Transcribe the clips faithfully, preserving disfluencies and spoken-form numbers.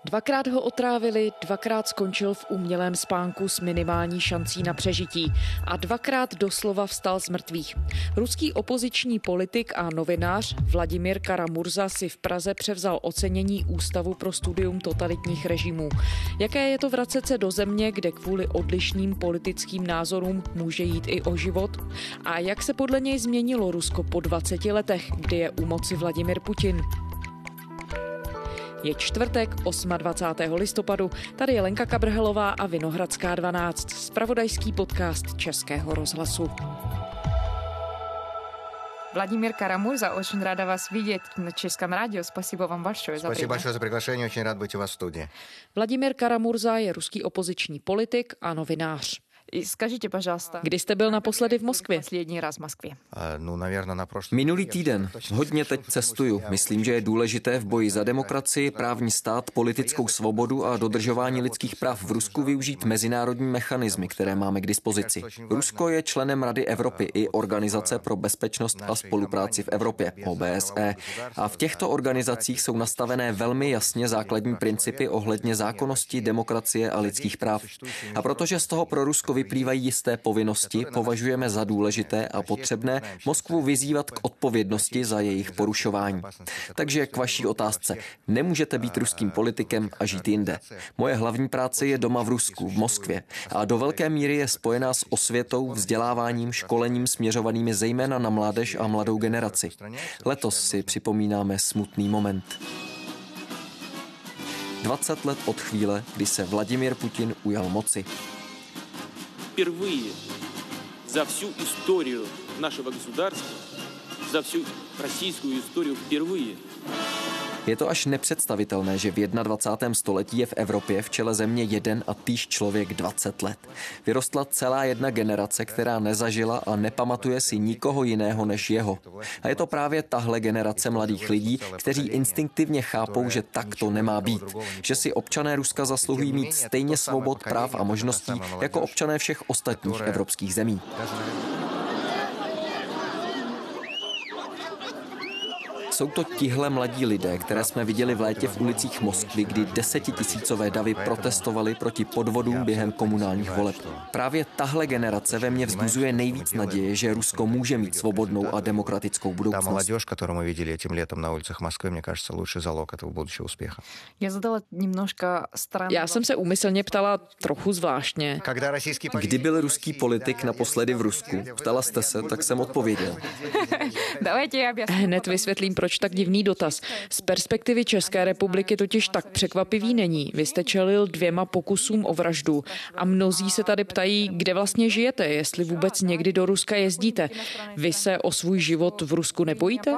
Dvakrát ho otrávili, dvakrát skončil v umělém spánku s minimální šancí na přežití a dvakrát doslova vstal z mrtvých. Ruský opoziční politik a novinář Vladimír Kara-Murza si v Praze převzal ocenění Ústavu pro studium totalitních režimů. Jaké je to vracet se do země, kde kvůli odlišným politickým názorům může jít i o život? A jak se podle něj změnilo Rusko po dvaceti letech, kdy je u moci Vladimír Putin? Je čtvrtek, dvacátého osmého listopadu, tady je Lenka Kabrhelová a Vinohradská dvanáct, zpravodajský podcast Českého rozhlasu. Владимир Кара-Мурза, очень рада вас видеть на Českém rádiu. Спасибо вам большое за Спасибо большое за приглашение, очень рад быть у вас в студии. Vladimír Kara-Murza je ruský opoziční politik a novinář. Скажите, пожалуйста, Kdy jste byl naposledy v Moskvě? Последний раз в Москве. Ну, наверное, на прошлом. Minulý týden. Hodně teď cestuju. Myslím, že je důležité v boji za demokracii, právní stát, politickou svobodu a dodržování lidských práv v Rusku využít mezinárodní mechanismy, které máme k dispozici. Rusko je členem Rady Evropy i Organizace pro bezpečnost a spolupráci v Evropě, O B S E. A v těchto organizacích jsou nastavené velmi jasně základní principy ohledně zákonnosti, demokracie a lidských práv. A protože z toho pro Rusko vyplývají jisté povinnosti, považujeme za důležité a potřebné Moskvu vyzývat k odpovědnosti za jejich porušování. Takže k vaší otázce. Nemůžete být ruským politikem a žít jinde. Moje hlavní práce je doma v Rusku, v Moskvě a do velké míry je spojená s osvětou, vzděláváním, školením směřovanými zejména na mládež a mladou generaci. Letos si připomínáme smutný moment. dvacet let od chvíle, kdy se Vladimír Putin ujal moci. Впервые за всю историю нашего государства, за всю российскую историю впервые. Je to až nepředstavitelné, že v dvacátém prvním století je v Evropě v čele země jeden a týž člověk dvacet let. Vyrostla celá jedna generace, která nezažila a nepamatuje si nikoho jiného než jeho. A je to právě tahle generace mladých lidí, kteří instinktivně chápou, že tak to nemá být. Že si občané Ruska zasluhují mít stejně svobod, práv a možností jako občané všech ostatních evropských zemí. Jsou to tihle mladí lidé, které jsme viděli v létě v ulicích Moskvy, kdy desetitisícové davy protestovali proti podvodům během komunálních voleb. Právě tahle generace ve mně vzbuzuje nejvíc naděje, že Rusko může mít svobodnou a demokratickou budoucnost. Ta mladěž, kterou jsme viděli tím letem na ulicích Moskvy, mě кажется, lepší zalog toho budoucího úspěchu. Já zadala немножко странný. Já jsem se úmyslně ptala trochu zvláštně. Kdy byl ruský politik naposledy v Rusku? Ptala jste se, tak jsem odpověděl. Hned vysvětlím, proč tak divný dotaz. Z perspektivy České republiky totiž tak překvapivý není. Vy jste čelil dvěma pokusům o vraždu a mnozí se tady ptají, kde vlastně žijete, jestli vůbec někdy do Ruska jezdíte. Vy se o svůj život v Rusku nebojíte?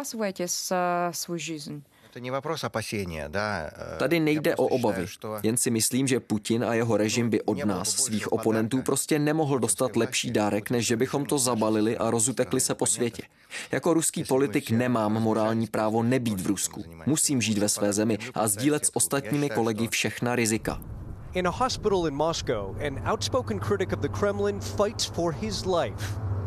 Tady nejde o obavy. Jen si myslím, že Putin a jeho režim by od nás, svých oponentů, prostě nemohl dostat lepší dárek, než že bychom to zabalili a rozutekli se po světě. Jako ruský politik nemám morální právo nebýt v Rusku. Musím žít ve své zemi a sdílet s ostatními kolegy všechna rizika. In a hospital in Moscow, an outspoken critic of the Kremlin fights for his life.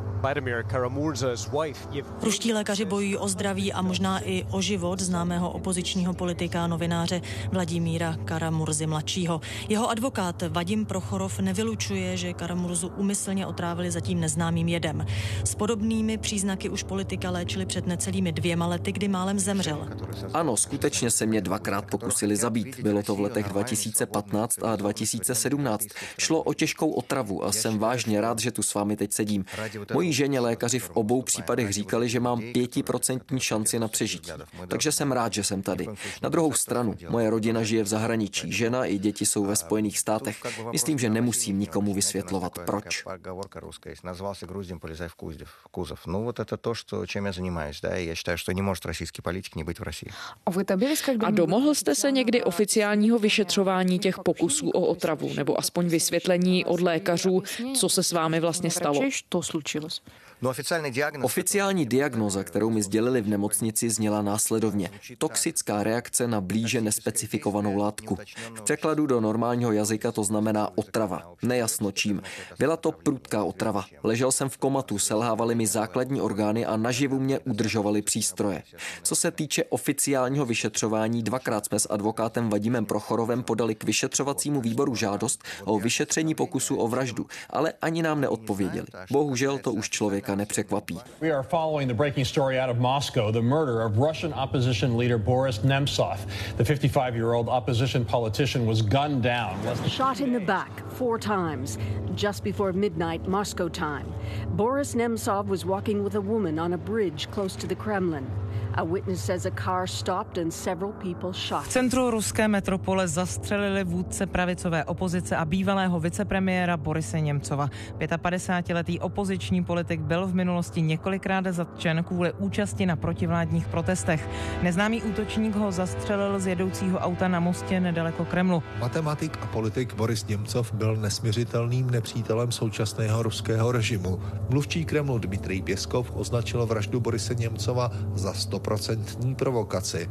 Ruští lékaři bojují o zdraví a možná i o život známého opozičního politika a novináře Vladimíra Kara-Murzy mladšího. Jeho advokát Vadim Prochorov nevylučuje, že Kara-Murzu úmyslně otrávili zatím neznámým jedem. S podobnými příznaky už politika léčili před necelými dvěma lety, kdy málem zemřel. Ano, skutečně se mě dvakrát pokusili zabít. Bylo to v letech dva tisíce patnáct a dva tisíce sedmnáct. Šlo o těžkou otravu a jsem vážně rád, že tu s vámi teď sedím. Mojí ženě lékaři v obou případech říkali, že mám pětiprocentní šanci na přežití. Takže jsem rád, že jsem tady. Na druhou stranu, moje rodina žije v zahraničí, žena i děti jsou ve Spojených státech. Myslím, že nemusím nikomu vysvětlovat, proč. A domohl jste se někdy oficiálního vyšetřování těch pokusů o otravu, nebo aspoň vysvětlení od lékařů, co se s vámi vlastně stalo? Oficiální diagnóza, kterou mi sdělili v nemocnici, zněla následovně. Toxická reakce na blíže nespecifikovanou látku. V překladu do normálního jazyka to znamená otrava. Nejasno čím. Byla to prudká otrava. Ležel jsem v komatu, selhávaly mi základní orgány a naživu mě udržovaly přístroje. Co se týče oficiálního vyšetřování, dvakrát jsme s advokátem Vadimem Prochorovem podali k vyšetřovacímu výboru žádost o vyšetření pokusu o vraždu, ale ani nám neodpověděli. Bohužel to už člověka nepřekvapí. We are following the breaking story out of Moscow, the murder of Russian opposition leader Boris Nemtsov. The fifty-five-year-old opposition politician was gunned down. Shot in the back four times just before midnight Moscow time. Boris Nemtsov was walking with a woman on a bridge close to the Kremlin. A witness says a car stopped and several people shot. V centru ruské metropole zastřelili vůdce pravicové opozice a bývalého vicepremiéra Borise Němcova. padesátipětiletý opoziční politik byl v minulosti několikrát zatčen kvůli účasti na protivládních protestech. Neznámý útočník ho zastřelil z jedoucího auta na mostě nedaleko Kremlu. Matematik a politik Boris Němcov byl nesmiřitelným nepřítelem současného ruského režimu. Mluvčí Kremlu Dmitrij Pěskov označil vraždu Borise Němcova za stoprocentní provokaci.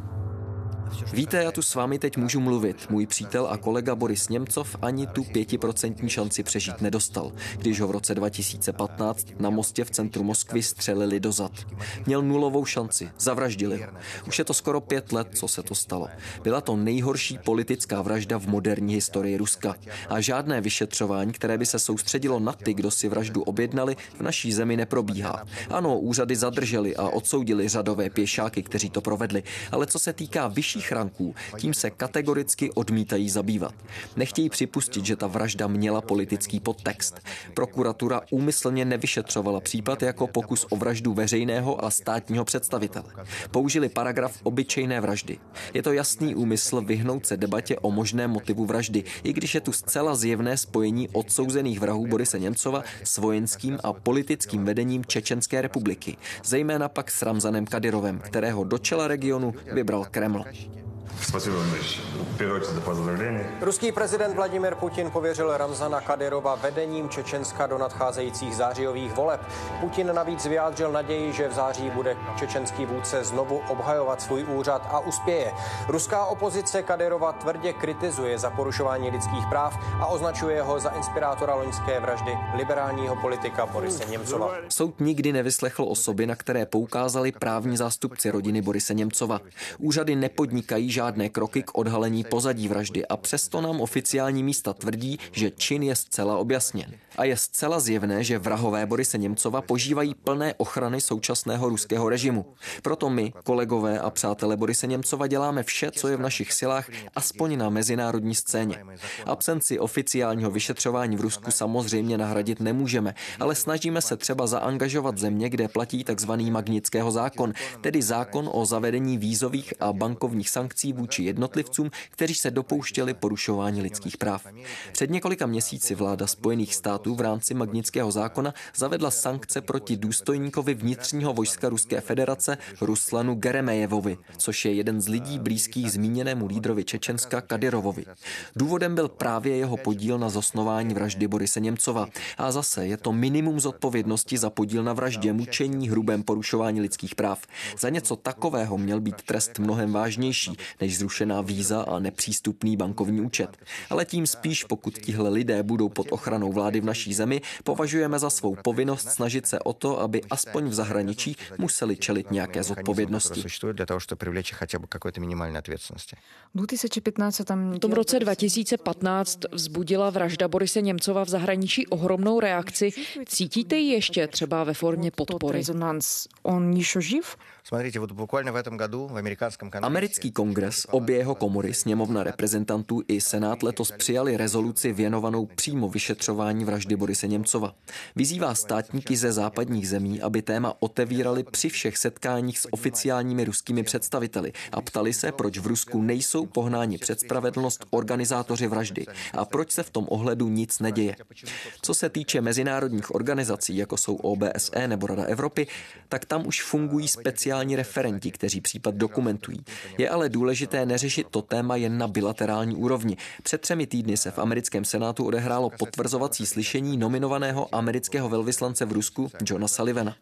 Víte, já tu s vámi teď můžu mluvit. Můj přítel a kolega Boris Němcov ani tu pětiprocentní šanci přežít nedostal, když ho v roce dva tisíce patnáct na mostě v centru Moskvy střelili do zad. Měl nulovou šanci, zavraždili ho. Už je to skoro pět let, co se to stalo. Byla to nejhorší politická vražda v moderní historii Ruska. A žádné vyšetřování, které by se soustředilo na ty, kdo si vraždu objednali, v naší zemi neprobíhá. Ano, úřady zadrželi a odsoudili řadové pěšáky, kteří to provedli, ale co se týká vyšší ranků, tím se kategoricky odmítají zabývat. Nechtějí připustit, že ta vražda měla politický podtext. Prokuratura úmyslně nevyšetřovala případ jako pokus o vraždu veřejného a státního představitele. Použili paragraf obyčejné vraždy. Je to jasný úmysl vyhnout se debatě o možném motivu vraždy, i když je tu zcela zjevné spojení odsouzených vrahů Borise Němcova s vojenským a politickým vedením Čečenské republiky, zejména pak s Ramzanem Kadyrovem, kterého do čela regionu vybral Kreml. Ruský prezident Vladimir Putin pověřil Ramzana Kadyrova vedením Čečenska do nadcházejících zářijových voleb. Putin navíc vyjádřil naději, že v září bude čečenský vůdce znovu obhajovat svůj úřad a uspěje. Ruská opozice Kadyrova tvrdě kritizuje za porušování lidských práv a označuje ho za inspirátora loňské vraždy liberálního politika Borise Němcova. Soud nikdy nevyslechl osoby, na které poukázali právní zástupci rodiny Borise Němcova. Úřady nepodnikají žádné kroky k odhalení pozadí vraždy a přesto nám oficiální místa tvrdí, že čin je zcela objasněn. A je zcela zjevné, že vrahové Borise Němcova požívají plné ochrany současného ruského režimu. Proto my, kolegové a přátelé Borise Němcova, děláme vše, co je v našich silách, aspoň na mezinárodní scéně. Absenci oficiálního vyšetřování v Rusku samozřejmě nahradit nemůžeme, ale snažíme se třeba zaangažovat země, kde platí takzvaný Magnitského zákon, tedy zákon o zavedení vízových a bankovních sankcí vůči jednotlivcům, kteří se dopouštěli porušování lidských práv. Před několika měsíci vláda Spojených států v rámci Magnitského zákona zavedla sankce proti důstojníkovi vnitřního vojska Ruské federace Ruslanu Geremejevovi, což je jeden z lidí blízkých zmíněnému lídrovi Čečenska Kadyrovovi. Důvodem byl právě jeho podíl na zosnování vraždy Borise Němcova. A zase je to minimum zodpovědnosti za podíl na vraždě, mučení, hrubém porušování lidských práv. Za něco takového měl být trest mnohem vážnější než zrušená víza a nepřístupný bankovní účet. Ale tím spíš, pokud tihle lidé budou pod ochranou vlády v naší zemi, považujeme za svou povinnost snažit se o to, aby aspoň v zahraničí museli čelit nějaké zodpovědnosti. V tom roce dva tisíce patnáct vzbudila vražda Borise Němcova v zahraničí ohromnou reakci. Cítíte ji ještě třeba ve formě podpory? On ještě živ? Americký kongres, obě jeho komory, sněmovna reprezentantů i senát letos přijali rezoluci věnovanou přímo vyšetřování vraždy Borise Němcova. Vyzývá státníky ze západních zemí, aby téma otevírali při všech setkáních s oficiálními ruskými představiteli a ptali se, proč v Rusku nejsou pohnáni před spravedlnost organizátoři vraždy a proč se v tom ohledu nic neděje. Co se týče mezinárodních organizací, jako jsou O B S E nebo Rada Evropy, tak tam už fungují speciální referenti, kteří případ dokumentují. Je ale důležité, důležité neřešit to téma jen na bilaterální úrovni. Před třemi týdny se v americkém senátu odehrálo potvrzovací slyšení nominovaného amerického velvyslance v Rusku Johna Sullivana.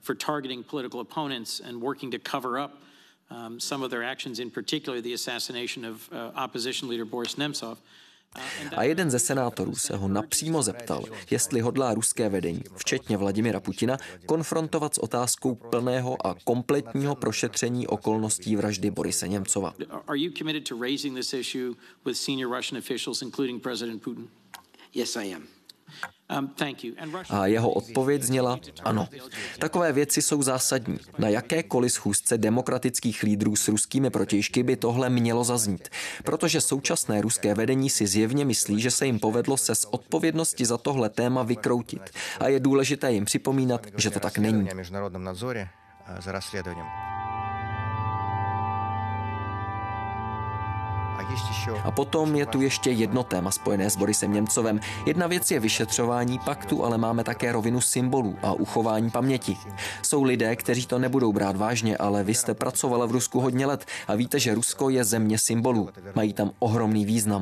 Um, some of their actions, in particular the assassination of uh, opposition leader Boris Nemtsov. A jeden ze senátorů se ho napřímo zeptal, jestli hodlá ruské vedení, včetně Vladimira Putina, konfrontovat s otázkou plného a kompletního prošetření okolností vraždy Borise Němcova. Are you committed to raising this issue with senior Russian officials, including President Putin? Yes, I am. A jeho odpověď zněla ano. Takové věci jsou zásadní. Na jakékoliv schůzce demokratických lídrů s ruskými protějšky by tohle mělo zaznít. Protože současné ruské vedení si zjevně myslí, že se jim povedlo se z odpovědnosti za tohle téma vykroutit. A je důležité jim připomínat, že to tak není. A potom je tu ještě jedno téma spojené s Borisem Němcovem. Jedna věc je vyšetřování, pak tu ale máme také rovinu symbolů a uchování paměti. Jsou lidé, kteří to nebudou brát vážně, ale vy jste pracovala v Rusku hodně let a víte, že Rusko je země symbolů. Mají tam ohromný význam.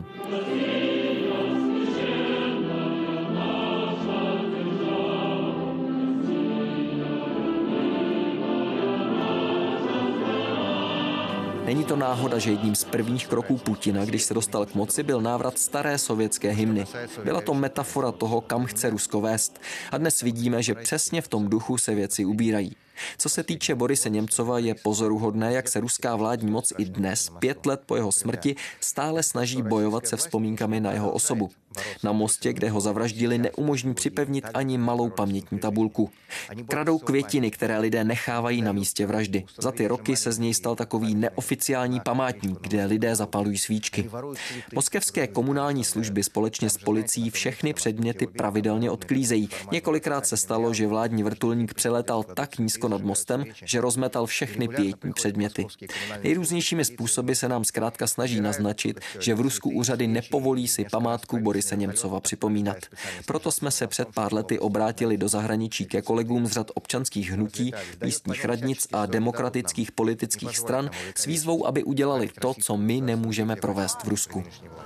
Není to náhoda, že jedním z prvních kroků Putina, když se dostal k moci, byl návrat staré sovětské hymny. Byla to metafora toho, kam chce Rusko vést. A dnes vidíme, že přesně v tom duchu se věci ubírají. Co se týče Borise Němcova, je pozoruhodné, jak se ruská vládní moc i dnes, pět let po jeho smrti, stále snaží bojovat se vzpomínkami na jeho osobu. Na mostě, kde ho zavraždili, neumožní připevnit ani malou pamětní tabulku. Kradou květiny, které lidé nechávají na místě vraždy. Za ty roky se z něj stal takový neoficiální památník, kde lidé zapalují svíčky. Moskevské komunální služby společně s policií všechny předměty pravidelně odklízejí. Několikrát se stalo, že vládní vrtulník přelétal tak nízko nad mostem, že rozmetal všechny pietní předměty. Nejrůznějšími způsoby se nám zkrátka snaží naznačit, že v Rusku úřady nepovolí si památku Borise Němcova připomínat. Proto jsme se před pár lety obrátili do zahraničí ke kolegům z řad občanských hnutí, místních radnic a demokratických politických stran s výzvou, aby udělali to, co my nemůžeme provést v Rusku.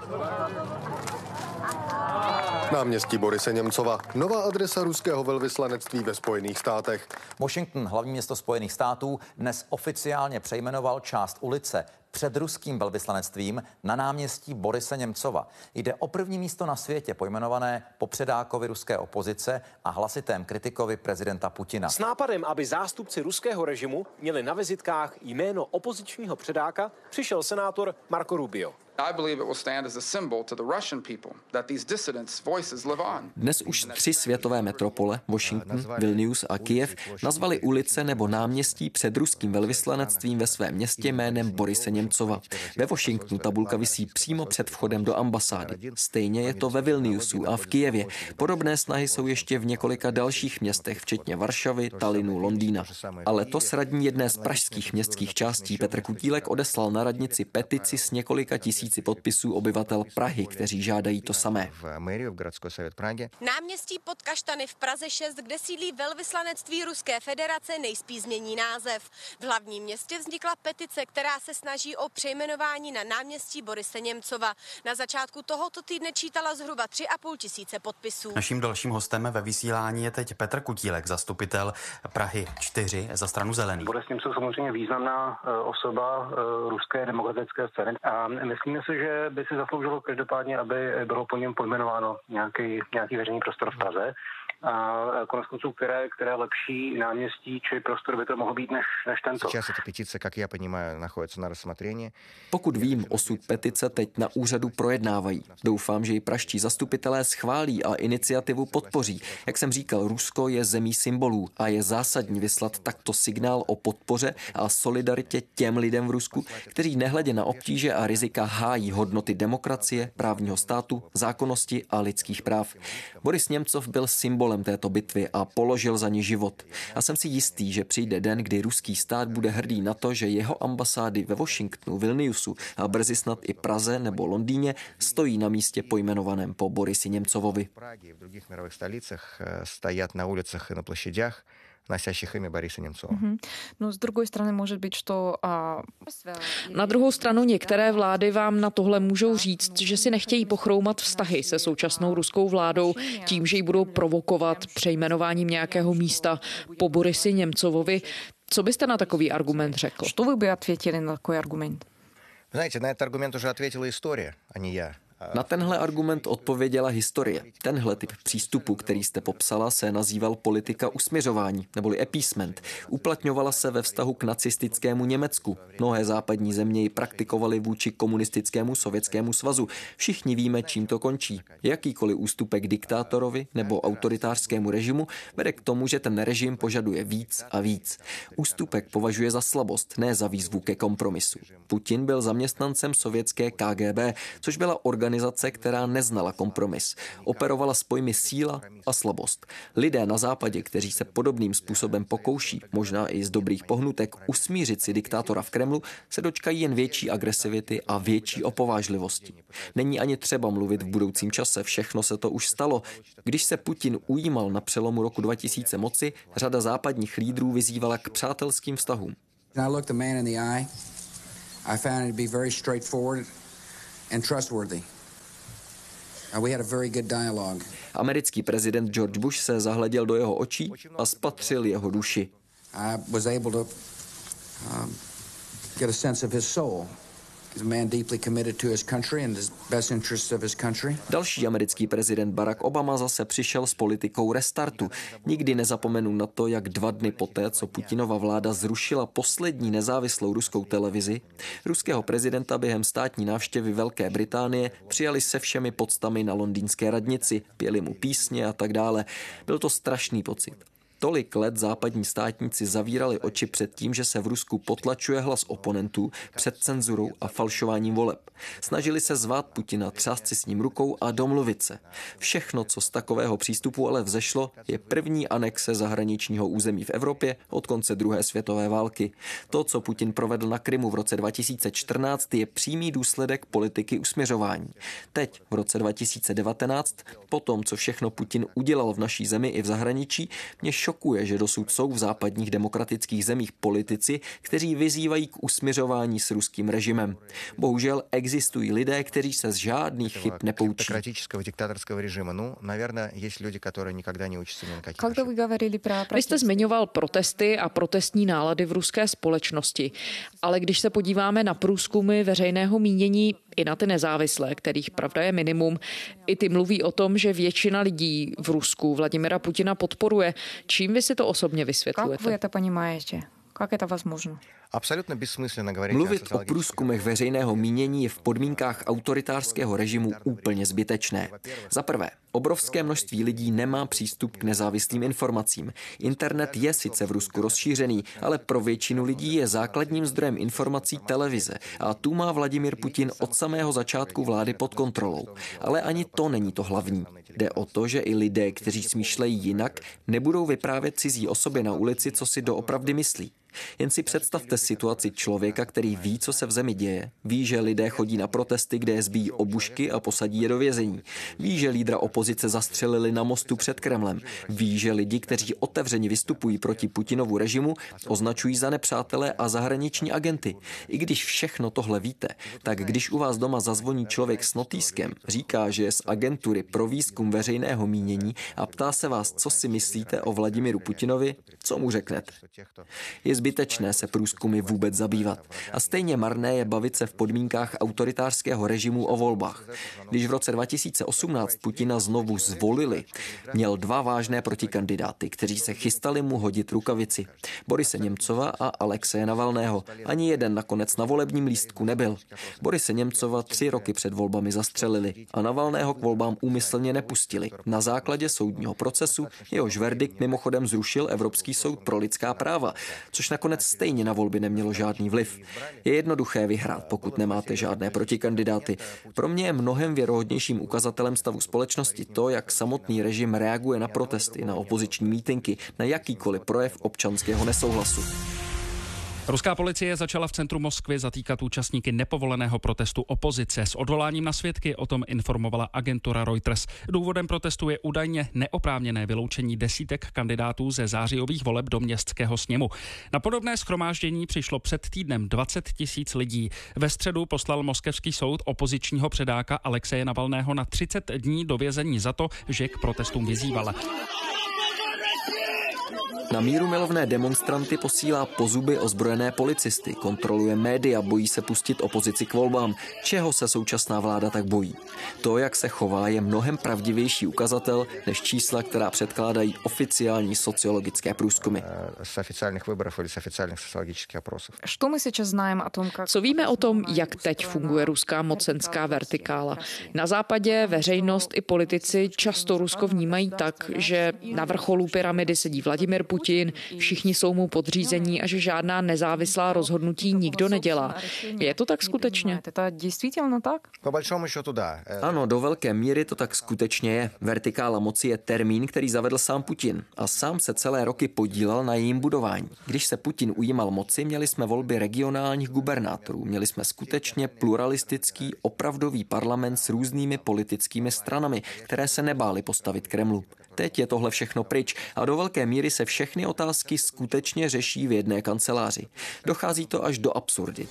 Náměstí Borise Němcova, nová adresa ruského velvyslanectví ve Spojených státech. Washington, hlavní město Spojených států, dnes oficiálně přejmenoval část ulice před ruským velvyslanectvím na náměstí Borise Němcova. Jde o první místo na světě pojmenované po předákovi ruské opozice a hlasitém kritikovi prezidenta Putina. S nápadem, aby zástupci ruského režimu měli na vizitkách jméno opozičního předáka, přišel senátor Marco Rubio. Dnes už tři světové metropole, Washington, Vilnius a Kyjev, nazvali ulice nebo náměstí před ruským velvyslanectvím ve svém městě jménem Borise Němcova. Ve Washingtonu tabulka visí přímo před vchodem do ambasády. Stejně je to ve Vilniusu a v Kyjevě. Podobné snahy jsou ještě v několika dalších městech, včetně Varšavy, Talinu, Londýna. A letos radní jedné z pražských městských částí Petr Kutílek odeslal na radnici petici s několika tisíci podpisů obyvatel Prahy, kteří žádají to samé. Náměstí pod Kaštany v Praze šest, kde sídlí velvyslanectví Ruské federace, nejspíš změní název. V hlavním městě vznikla petice, která se snaží o přejmenování na náměstí Borise Němcova. Na začátku tohoto týdne čítala zhruba tři a půl tisíce podpisů. Naším dalším hostem ve vysílání je teď Petr Kutílek, zastupitel Prahy čtyři za stranu Zelených. Boris Němcov samozřejmě významná osoba ruské demokratické scény a myslíme si, že by si zasloužilo každopádně, aby bylo po něm pojmenováno nějaký, nějaký veřejný prostor v Praze. A konec konců, které, které lepší náměstí či prostor by to mohlo být než, než tento. Pokud vím, osud petice teď na úřadu projednávají. Doufám, že ji pražští zastupitelé schválí a iniciativu podpoří. Jak jsem říkal, Rusko je zemí symbolů a je zásadní vyslat takto signál o podpoře a solidaritě těm lidem v Rusku, kteří nehledě na obtíže a rizika hájí hodnoty demokracie, právního státu, zákonnosti a lidských práv. Boris Němcov byl symbolem této bitvy a položil za ní život. A jsem si jistý, že přijde den, kdy ruský stát bude hrdý na to, že jeho ambasády ve Washingtonu, Vilniusu a brzy snad i Praze nebo Londýně stojí na místě pojmenovaném po Borisi Němcovovi. V других мировых столицах стоят на улицах и на площадях носящих имя Бориса Немцова. Угу. Но с другой стороны, может быть, что... А... Na druhou stranu některé vlády vám na tohle můžou říct, že si nechtějí pochroumat vztahy se současnou ruskou vládou tím, že ji budou provokovat přejmenováním nějakého místa po Borisi Němcovovi. Co byste na takový argument řekl? Что вы бы ответили на такой аргумент? Знаете, на этот аргумент уже ответила история, а не я. Na tenhle argument odpověděla historie. Tenhle typ přístupu, který jste popsala, se nazýval politika usmiřování, neboli appeasement. Uplatňovala se ve vztahu k nacistickému Německu. Mnohé západní země ji praktikovaly vůči komunistickému Sovětskému svazu. Všichni víme, čím to končí. Jakýkoliv ústupek diktátorovi nebo autoritářskému režimu vede k tomu, že ten režim požaduje víc a víc. Ústupek považuje za slabost, ne za výzvu ke kompromisu. Putin byl zaměstnancem sovětské K G B, což byla organizace, Organizace, která neznala kompromis. Operovala s pojmy síla a slabost. Lidé na západě, kteří se podobným způsobem pokouší, možná i z dobrých pohnutek, usmířit si diktátora v Kremlu, se dočkají jen větší agresivity a větší opovážlivosti. Není ani třeba mluvit v budoucím čase, všechno se to už stalo. Když se Putin ujímal na přelomu roku dva tisíce moci, řada západních lídrů vyzývala k přátelským vztahům. And trustworthy. Uh, we had a very good dialogue. Americký prezident George Bush se zahleděl do jeho očí a spatřil jeho duši. I was able to um, get a sense of his soul. He's a man deeply committed to his country and the best interests of his country. Další americký prezident Barack Obama zase přišel s politikou restartu. Nikdy nezapomenu na to, jak dva dny poté, co Putinova vláda zrušila poslední nezávislou ruskou televizi, ruského prezidenta během státní návštěvy Velké Británie přijali se všemi poctami na londýnské radnici, pěli mu písně a tak dále. Byl to strašný pocit. Tolik let západní státníci zavírali oči před tím, že se v Rusku potlačuje hlas oponentů před cenzurou a falšováním voleb. Snažili se zvát Putina, třást si s ním rukou a domluvit se. Všechno, co z takového přístupu ale vzešlo, je první anexe zahraničního území v Evropě od konce druhé světové války. To, co Putin provedl na Krymu v roce dva tisíce čtrnáct, je přímý důsledek politiky usmiřování. Teď, v roce dva tisíce devatenáct, po tom, co všechno Putin udělal v naší zemi i v zahraničí, mě šokuje, že dosud jsou v západních demokratických zemích politici, kteří vyzývají k usmiřování s ruským režimem. Bohužel existují lidé, kteří se z žádných chyb nepoučí. Vy jste zmiňoval protesty a protestní nálady v ruské společnosti, ale když se podíváme na průzkumy veřejného mínění i na ty nezávislé, kterých pravda je minimum, i ty mluví o tom, že většina lidí v Rusku Vladimira Putina podporuje. Čím vy si to osobně vysvětlujete? Jak vy to ponímáte? Jak je to возможно? Mluvit o průzkumech veřejného mínění je v podmínkách autoritářského režimu úplně zbytečné. Za prvé, obrovské množství lidí nemá přístup k nezávislým informacím. Internet je sice v Rusku rozšířený, ale pro většinu lidí je základním zdrojem informací televize a tu má Vladimir Putin od samého začátku vlády pod kontrolou. Ale ani to není to hlavní. Jde o to, že i lidé, kteří smýšlejí jinak, nebudou vyprávět cizí osobě na ulici, co si doopravdy myslí. Jen si představte situaci člověka, který ví, co se v zemi děje. Ví, že lidé chodí na protesty, kde je zbijí obušky a posadí je do vězení. Ví, že lídra opozice zastřelili na mostu před Kremlem. Ví, že lidi, kteří otevřeně vystupují proti Putinovu režimu, označují za nepřátelé a zahraniční agenty. I když všechno tohle víte, tak když u vás doma zazvoní člověk s notýskem, říká, že je z agentury pro výzkum veřejného mínění a ptá se vás, co si myslíte o Vladimiru Putinovi, co mu řeknete? Je zbytečné se průzkumy vůbec zabývat. A stejně marné je bavit se v podmínkách autoritářského režimu o volbách. Když v roce dva tisíce osmnáct Putina znovu zvolili, měl dva vážné protikandidáty, kteří se chystali mu hodit rukavici. Borise Němcova a Alexeje Navalného. Ani jeden nakonec na volebním lístku nebyl. Borise Němcova tři roky před volbami zastřelili a Navalného k volbám úmyslně nepustili. Na základě soudního procesu jehož verdikt mimochodem zrušil Evropský soud pro lidská práva, což nakonec stejně na volby nemělo žádný vliv. Je jednoduché vyhrát, pokud nemáte žádné protikandidáty. Pro mě je mnohem věrohodnějším ukazatelem stavu společnosti to, jak samotný režim reaguje na protesty, na opoziční mítinky, na jakýkoliv projev občanského nesouhlasu. Ruská policie začala v centru Moskvy zatýkat účastníky nepovoleného protestu opozice. S odvoláním na svědky o tom informovala agentura Reuters. Důvodem protestu je údajně neoprávněné vyloučení desítek kandidátů ze zářijových voleb do městského sněmu. Na podobné shromáždění přišlo před týdnem dvacet tisíc lidí. Ve středu poslal moskevský soud opozičního předáka Alexeje Navalného na třicet dní do vězení za to, že k protestům vyzýval. Na mírumilovné demonstranty posílá po zuby ozbrojené policisty, kontroluje média, bojí se pustit opozici k volbám. Čeho se současná vláda tak bojí? To, jak se chová, je mnohem pravdivější ukazatel než čísla, která předkládají oficiální sociologické průzkumy. Z oficiálních výborů nebo z oficiálních sociologických oprosů. Co víme o tom, jak teď funguje ruská mocenská vertikála? Na západě veřejnost i politici často Rusko vnímají tak, že na vrcholu pyramidy sedí Vladimir Putin, všichni jsou mu podřízení a že žádná nezávislá rozhodnutí nikdo nedělá. Je to tak skutečně? Ano, do velké míry to tak skutečně je. Vertikála moci je termín, který zavedl sám Putin a sám se celé roky podílel na jejím budování. Když se Putin ujímal moci, měli jsme volby regionálních gubernátorů, měli jsme skutečně pluralistický, opravdový parlament s různými politickými stranami, které se nebály postavit Kremlu. Teď je tohle všechno pryč a do velké míry se všechny otázky skutečně řeší v jedné kanceláři. Dochází to až do absurdit.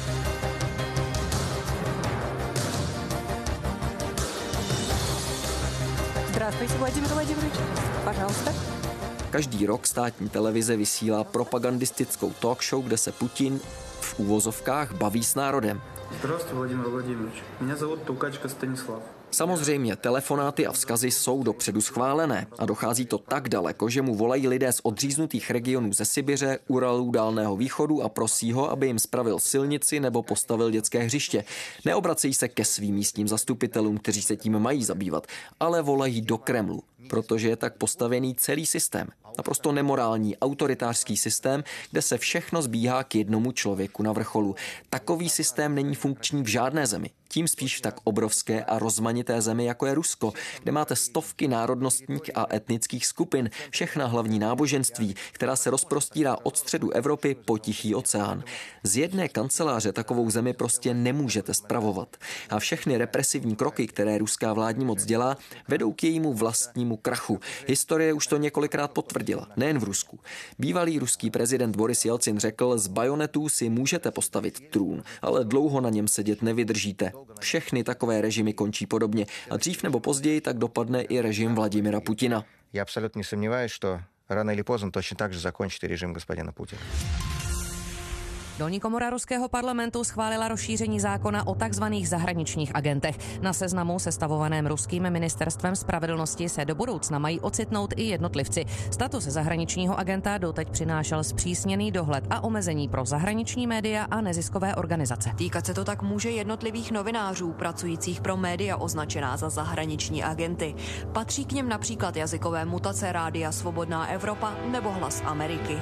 Здравствуйте, Владимир Владимирович. Пожалуйста. Každý rok státní televize vysílá propagandistickou talk show, kde se Putin v úvozovkách baví s národem. Здравствуйте, Владимир Владимирович. Меня зовут Толкачка Станислав. Samozřejmě telefonáty a vzkazy jsou dopředu schválené a dochází to tak daleko, že mu volají lidé z odříznutých regionů ze Sibiře, Uralů, Dálného východu a prosí ho, aby jim spravil silnici nebo postavil dětské hřiště. Neobracejí se ke svým místním zastupitelům, kteří se tím mají zabývat, ale volají do Kremlu, protože je tak postavený celý systém. Naprosto nemorální, autoritářský systém, kde se všechno zbíhá k jednomu člověku na vrcholu. Takový systém není funkční v žádné zemi. Tím spíš v tak obrovské a rozmanité zemi, jako je Rusko, kde máte stovky národnostních a etnických skupin, všechna hlavní náboženství, která se rozprostírá od středu Evropy po Tichý oceán. Z jedné kanceláře takovou zemi prostě nemůžete spravovat. A všechny represivní kroky, které ruská vládní moc dělá, vedou k jejímu vlastnímu krachu. Historie už to několikrát potvrdila, nejen v Rusku. Bývalý ruský prezident Boris Jelcin řekl, z bajonetů si můžete postavit trůn, ale dlouho na něm sedět nevydržíte. Všechny takové režimy končí podobně a dřív nebo později tak dopadne i režim Vladimira Putina. Já absolutně nesomnívаюсь, že rano или поздно точно так же закончит režim господина Putina. Dolní komora ruského parlamentu schválila rozšíření zákona o takzvaných zahraničních agentech. Na seznamu sestavovaném ruským ministerstvem spravedlnosti se do budoucna mají ocitnout i jednotlivci. Status zahraničního agenta doteď přinášel zpřísněný dohled a omezení pro zahraniční média a neziskové organizace. Týkat se to tak může jednotlivých novinářů pracujících pro média označená za zahraniční agenty. Patří k něm například jazykové mutace Rádia Svobodná Evropa nebo Hlas Ameriky.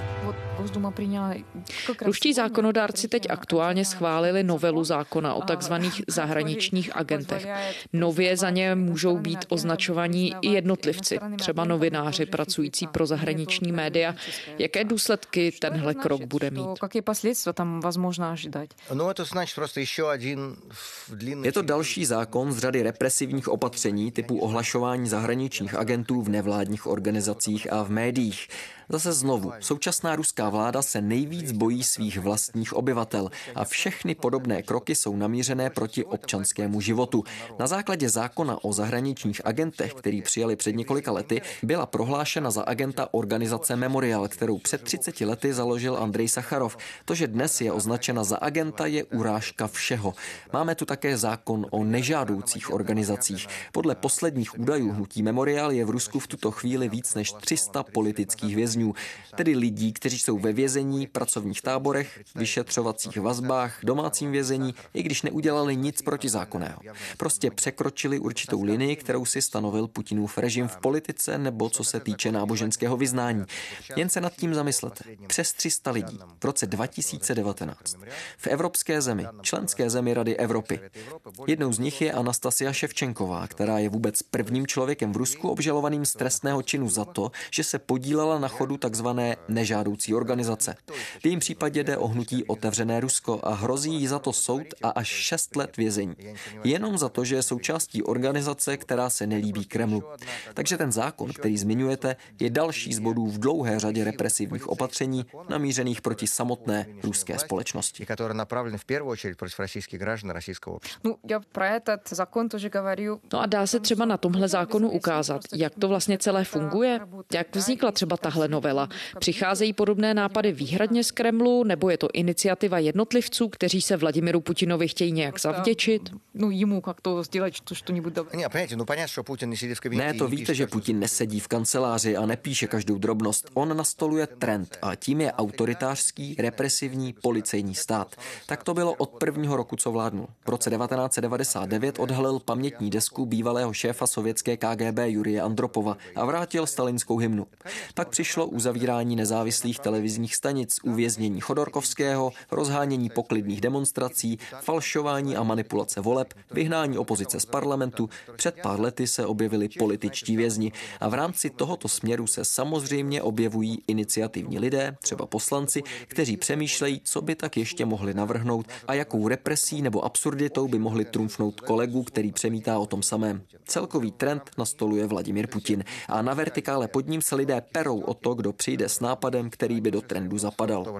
Ruští zákonodárci teď aktuálně schválili novelu zákona o takzvaných zahraničních agentech. Nově za ně můžou být označovaní i jednotlivci, třeba novináři pracující pro zahraniční média. Jaké důsledky tenhle krok bude mít? Je to další zákon z řady represivních opatření typu ohlašování zahraničních agentů v nevládních organizacích a v médiích. Zase znovu, současná ruská vláda se nejvíc bojí svých vlastních obyvatel a všechny podobné kroky jsou namířené proti občanskému životu. Na základě zákona o zahraničních agentech, který přijali před několika lety, byla prohlášena za agenta organizace Memorial, kterou před třiceti lety založil Andrej Sacharov. To, že dnes je označena za agenta, je urážka všeho. Máme tu také zákon o nežádoucích organizacích. Podle posledních údajů hnutí Memorial je v Rusku v tuto chvíli víc než tři sta politických vězňů. Tedy lidí, kteří jsou ve vězení, pracovních táborech, vyšetřovacích vazbách, domácím vězení, i když neudělali nic protizákonného. Prostě překročili určitou linii, kterou si stanovil Putinův režim v politice nebo co se týče náboženského vyznání. Jen se nad tím zamyslete. Přes tři sta lidí v roce dva tisíce devatenáct. V evropské zemi, členské zemi Rady Evropy. Jednou z nich je Anastasia Ševčenková, která je vůbec prvním člověkem v Rusku obžalovaným z trestného činu za to, že se podílela na chodu takzvané nežádoucí organizace. V jejím případě jde o hnutí Otevřené Rusko a hrozí jí za to soud a až šest let vězení. Jenom za to, že je součástí organizace, která se nelíbí Kremlu. Takže ten zákon, který zmiňujete, je další z bodů v dlouhé řadě represivních opatření namířených proti samotné ruské společnosti. No, já pro этот zákon тоже говорю. No a dá se třeba na tomhle zákonu ukázat, jak to vlastně celé funguje? Jak vznikla třeba tahle novela? Přicházejí podobné nápady výhradně z Kremlu, nebo je to iniciativa jednotlivců, kteří se Vladimiru Putinovi chtějí nějak zavděčit? No jemu jak to dělat, to něco dobré. Ne, to víte, že Putin nesedí v kanceláři a nepíše každou drobnost. On nastoluje trend a tím je autoritářský, represivní, policejní stát. Tak to bylo od prvního roku, co vládnul. V roce devatenáct set devadesát devět odhalil pamětní desku bývalého šéfa sovětské K G B Jurije Andropova a vrátil stalinskou hymnu. Pak přišlo uzavírání nezávislých televizních stanic, uvěznění Chodorkovského, rozhánění poklidných demonstrací, falšování a manipulace voleb, vyhnání opozice z parlamentu. Před pár lety se objevili političtí vězni a v rámci tohoto směru se samozřejmě objevují iniciativní lidé, třeba poslanci, kteří přemýšlejí, co by tak ještě mohli navrhnout a jakou represí nebo absurditou by mohli trumfnout kolegu, který přemítá o tom samém. Celkový trend nastoluje Vladimír Putin a na vertikále pod ním se lidé perou o to, kdo přijde s nápadem, který by do trendu zapadal.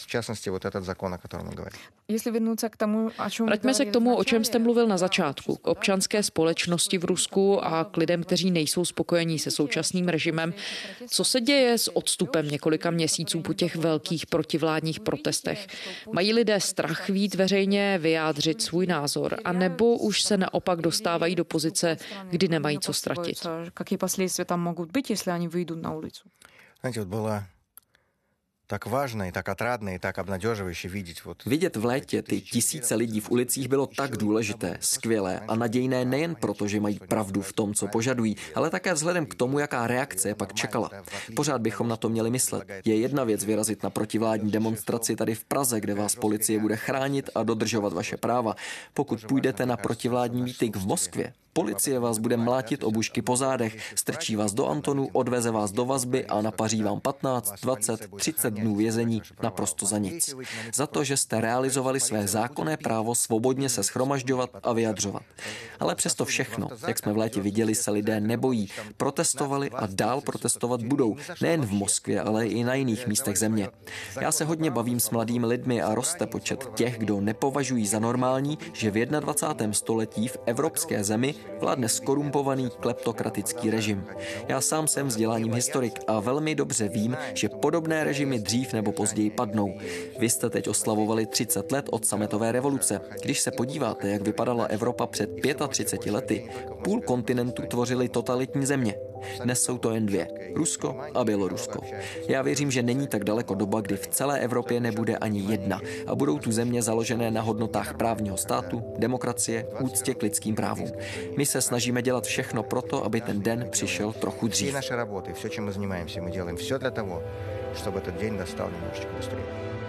Vraťme se k tomu, o čem jste mluvil na začátku, k občanské společnosti v Rusku a k lidem, kteří nejsou spokojení se současným režimem. Co se děje s odstupem několika měsíců po těch velkých protivládních protestech? Mají lidé strach vyjít veřejně, vyjádřit svůj názor, anebo už se naopak dostávají do pozice, kdy nemají co ztratit? Jaké последствия tam mohou být, jestli oni vyjdou na ulici? Знаете, вот было tak vážné, tak отрадné, tak обнадеживающе vidět. Vidět v létě ty tisíce lidí v ulicích bylo tak důležité, skvělé a nadějné nejen proto, že mají pravdu v tom, co požadují, ale také vzhledem k tomu, jaká reakce je pak čekala. Pořád bychom na to měli myslet. Je jedna věc vyrazit na protivládní demonstraci tady v Praze, kde vás policie bude chránit a dodržovat vaše práva. Pokud půjdete na protivládní mítink v Moskvě, policie vás bude mlátit obušky po zádech, strčí vás do Antonu, odveze vás do vazby a napaří vám patnáct, dvacet, třicet dnů vězení naprosto za nic. Za to, že jste realizovali své zákonné právo svobodně se shromažďovat a vyjadřovat. Ale přesto všechno, jak jsme v létě viděli, se lidé nebojí. Protestovali a dál protestovat budou. Nejen v Moskvě, ale i na jiných místech země. Já se hodně bavím s mladými lidmi a roste počet těch, kdo nepovažují za normální, že v dvacátém prvním století v evropské zemi vládne skorumpovaný kleptokratický režim. Já sám jsem vzděláním historik a velmi dobře vím, že podobné režimy dřív nebo později padnou. Vy jste teď oslavovali třicet let od sametové revoluce. Když se podíváte, jak vypadala Evropa před třiceti pěti lety, půl kontinentu tvořily totalitní země. Dnes jsou to jen dvě. Rusko a Bělorusko. Já věřím, že není tak daleko doba, kdy v celé Evropě nebude ani jedna a budou tu země založené na hodnotách právního státu, demokracie, úctě k lidským právům. My se snažíme dělat všechno proto, aby ten den přišel trochu dřív. Naše работы, все, чем мы занимаемся, мы делаем все для того, чтобы этот день настал немножечко быстрее.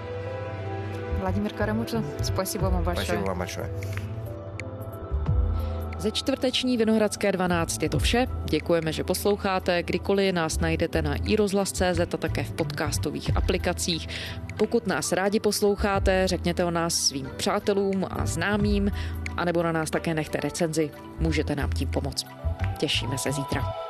Владимир Карамурза, спасибо вам большое. Спасибо vám большое. Ze čtvrteční Vinohradské dvanáct je to vše. Děkujeme, že posloucháte. Kdykoliv nás najdete na i rozhlas tečka cé zet a také v podcastových aplikacích. Pokud nás rádi posloucháte, řekněte o nás svým přátelům a známým, anebo na nás také nechte recenzi. Můžete nám tím pomoct. Těšíme se zítra.